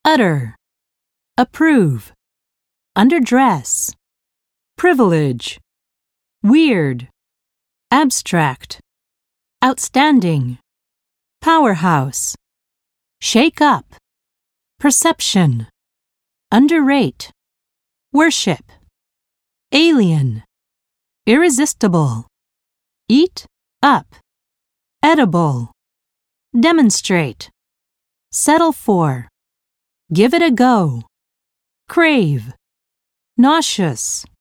utter, approve, underdress, privilege, weird, abstract, outstanding, powerhouse, shake up, perception, underrate, worship, alien, irresistible, eat up, edible, demonstrate, settle for, give it a go, crave, nauseous,